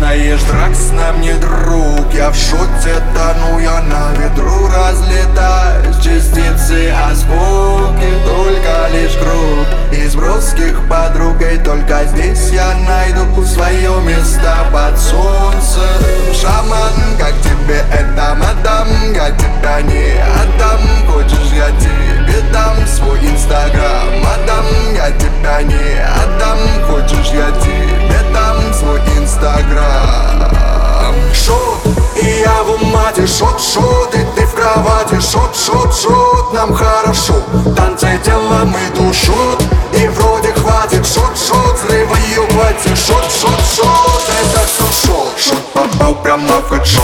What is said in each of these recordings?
знаешь, Дракс нам не друг. Я в шоте тону, я на ветру разлетаюсь. Частицы осколки, только лишь круг из броских подругой. Только здесь я найду свое место под солнцем. Шаман, как тебе это, мадам? Я тебя не отдам. Хочешь, я тебе дам свой инстаграм, мадам? Я тебя не отдам. Хочешь, я тебе дам свой инстаграм. Шот, и я в умате, шот, и ты в кровати. Шот, нам хорошо. Танцы телом и душу, и вроде хватит. Шот, взрыва ее хватит. Шот, это все шот. Шот попал прямо в хэдшот.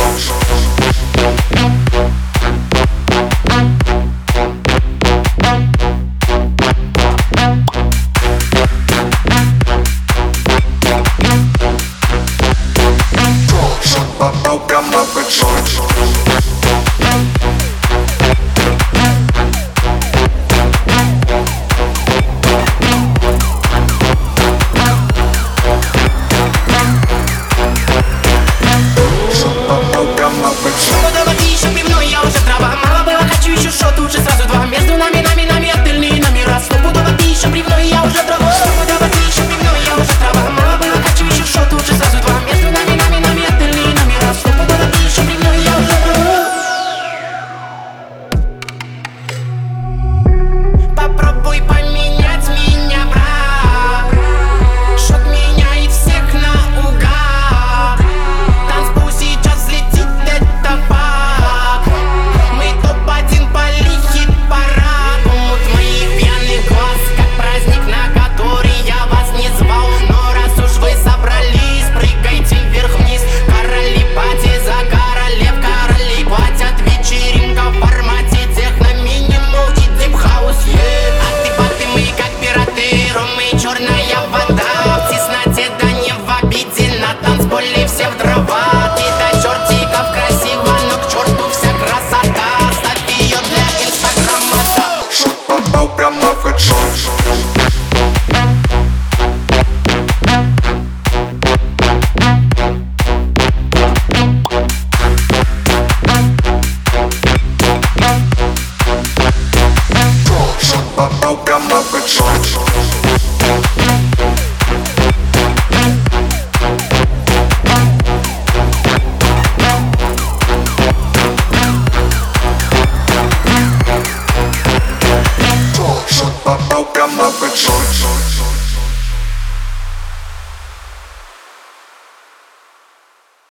Попал прямо в хэдшот. Еще пивной, я уже трава. Мало было, хочу еще шот, лучше сразу два. Между нами отельные номера. Стопудово ты еще пивной, я уже трава. Стопудово ты еще пивной, я уже трава. Мало было, хочу еще шот, лучше сразу два. Между нами отельные номера. Стопудово ты еще пивной, я уже трава. Попробуй поменять меня, брат. Шот меняет всех наугад. Танцпол сейчас взлетит, это факт. Мы топ-1 по хит-параду. Мут моих пьяных глаз, как праздник, на который я вас не звал. Но раз уж вы собрались, прыгайте вверх-вниз. Короли пати за королев, короли платят. Вечеринка в формате техно, минимал и дип-хаус. А ты мы как пираты, ром и черная вода. В тесноте, да не в обиде, на танцполе все в дрова. Ты до чертиков красиво, но к черту вся красота. Ставь ее для инстаграма, да. Шот попал прямо в хэдшот. Шот попал прямо